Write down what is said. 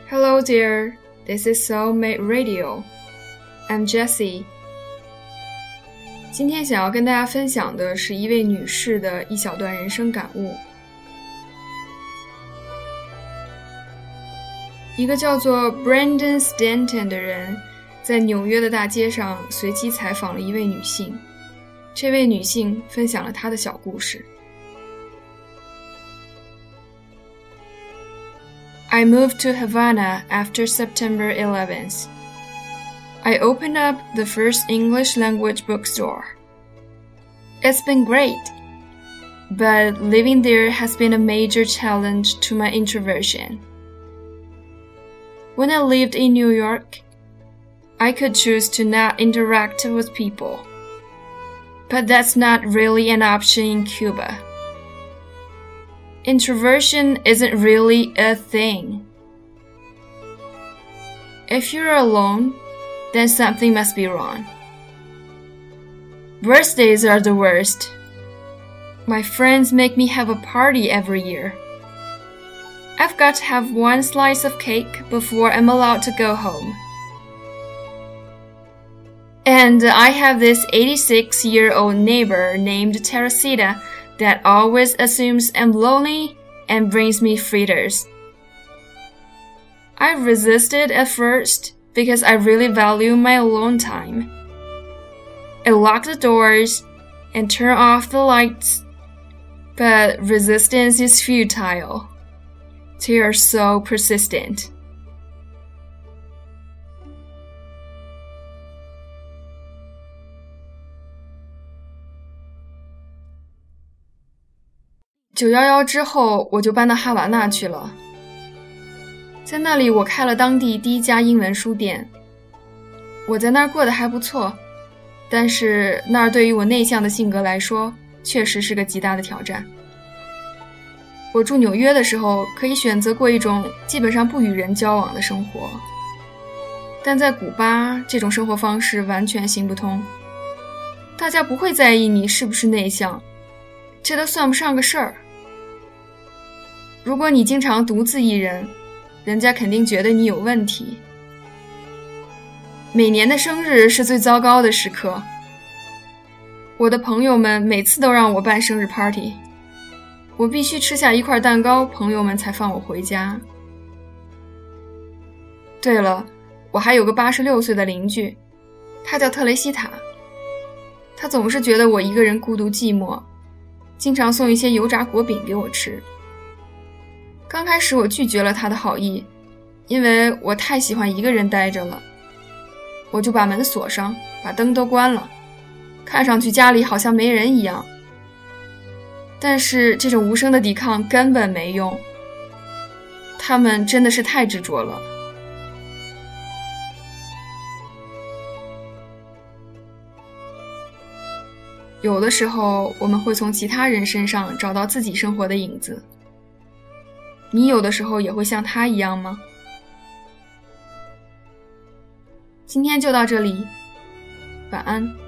Hello dear, this is Soulmate Radio. I'm Jessie. 今天想要跟大家分享的是一位女士的一小段人生感悟。一个叫做 Brandon Stanton 的人在纽约的大街上随机采访了一位女性，这位女性分享了她的小故事。I moved to Havana after September 11th. I opened up the first English language bookstore. It's been great, but living there has been a major challenge to my introversion. When I lived in New York, I could choose to not interact with people. But that's not really an option in Cuba. Introversion isn't really a thing. If you're alone, then something must be wrong. Birthdays are the worst. My friends make me have a party every year. I've got to have one slice of cake before I'm allowed to go home. And I have this 86-year-old neighbor named Teresita that always assumes I'm lonely and brings me fritters. I resisted at first because I really value my alone time. I lock the doors and turn off the lights, but resistance is futile. They are so persistent. 911之后，我就搬到哈瓦那去了。在那里，我开了当地第一家英文书店。我在那儿过得还不错，但是那儿对于我内向的性格来说，确实是个极大的挑战。我住纽约的时候，可以选择过一种基本上不与人交往的生活，但在古巴，这种生活方式完全行不通。大家不会在意你是不是内向，这都算不上个事儿。如果你经常独自一人，人家肯定觉得你有问题。每年的生日是最糟糕的时刻，我的朋友们每次都让我办生日 party， 我必须吃下一块蛋糕，朋友们才放我回家。对了，我还有个86岁的邻居，他叫特雷西塔，他总是觉得我一个人孤独寂寞，经常送一些油炸果饼给我吃。刚开始我拒绝了他的好意，因为我太喜欢一个人待着了。我就把门锁上，把灯都关了，看上去家里好像没人一样。但是这种无声的抵抗根本没用，他们真的是太执着了。有的时候我们会从其他人身上找到自己生活的影子。你有的时候也会像他一样吗？今天就到这里，晚安。